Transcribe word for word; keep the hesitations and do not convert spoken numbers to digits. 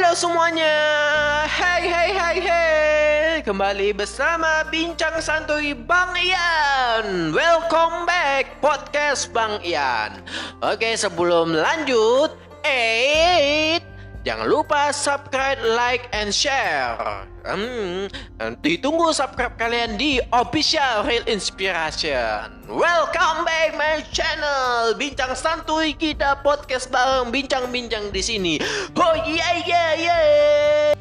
Halo semuanya, hai hai hai hai. Kembali bersama Bincang Santuy Bang Ian. Welcome back podcast Bang Ian. Oke, sebelum lanjut, eh jangan lupa subscribe, like, and share. Hmm, ditunggu subscribe kalian di Official Real Inspiration. Welcome back my channel. Bincang santuy kita podcast bareng bincang-bincang di sini. Oh yeah yeah yeah.